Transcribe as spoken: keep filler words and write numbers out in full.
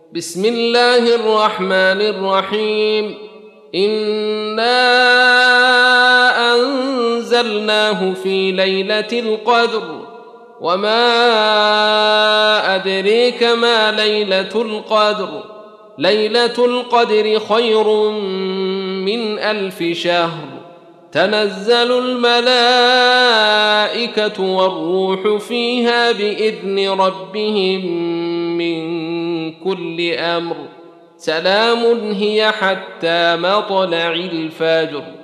بسم الله الرحمن الرحيم. إنا أنزلناه في ليلة القدر وما أدريك ما ليلة القدر ليلة القدر خير من ألف شهر. تنزل الملائكة والروح فيها بإذن ربهم من كل أمر. سلام هي حتى مطلع الفجر.